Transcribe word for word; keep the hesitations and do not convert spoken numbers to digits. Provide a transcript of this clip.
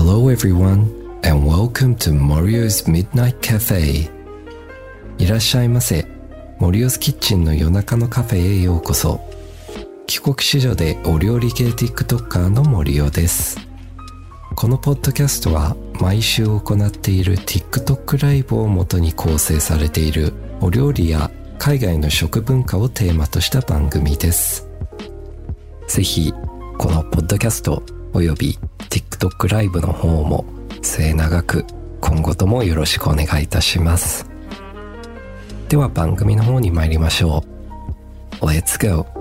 Hello everyone and welcome to Morio's Midnight Cafe. いらっしゃいませ。モリオスキッチンの夜中のカフェへようこそ。帰国子女でお料理系 TikToker のモリオです。このポッドキャストは毎週行っている TikTok ライブを元に構成されているお料理や海外の食文化をテーマとした番組です。ぜひこのポッドキャストおよび TikTok ライブの方も末永く今後ともよろしくお願いいたします。では番組の方に参りましょう。Let's go!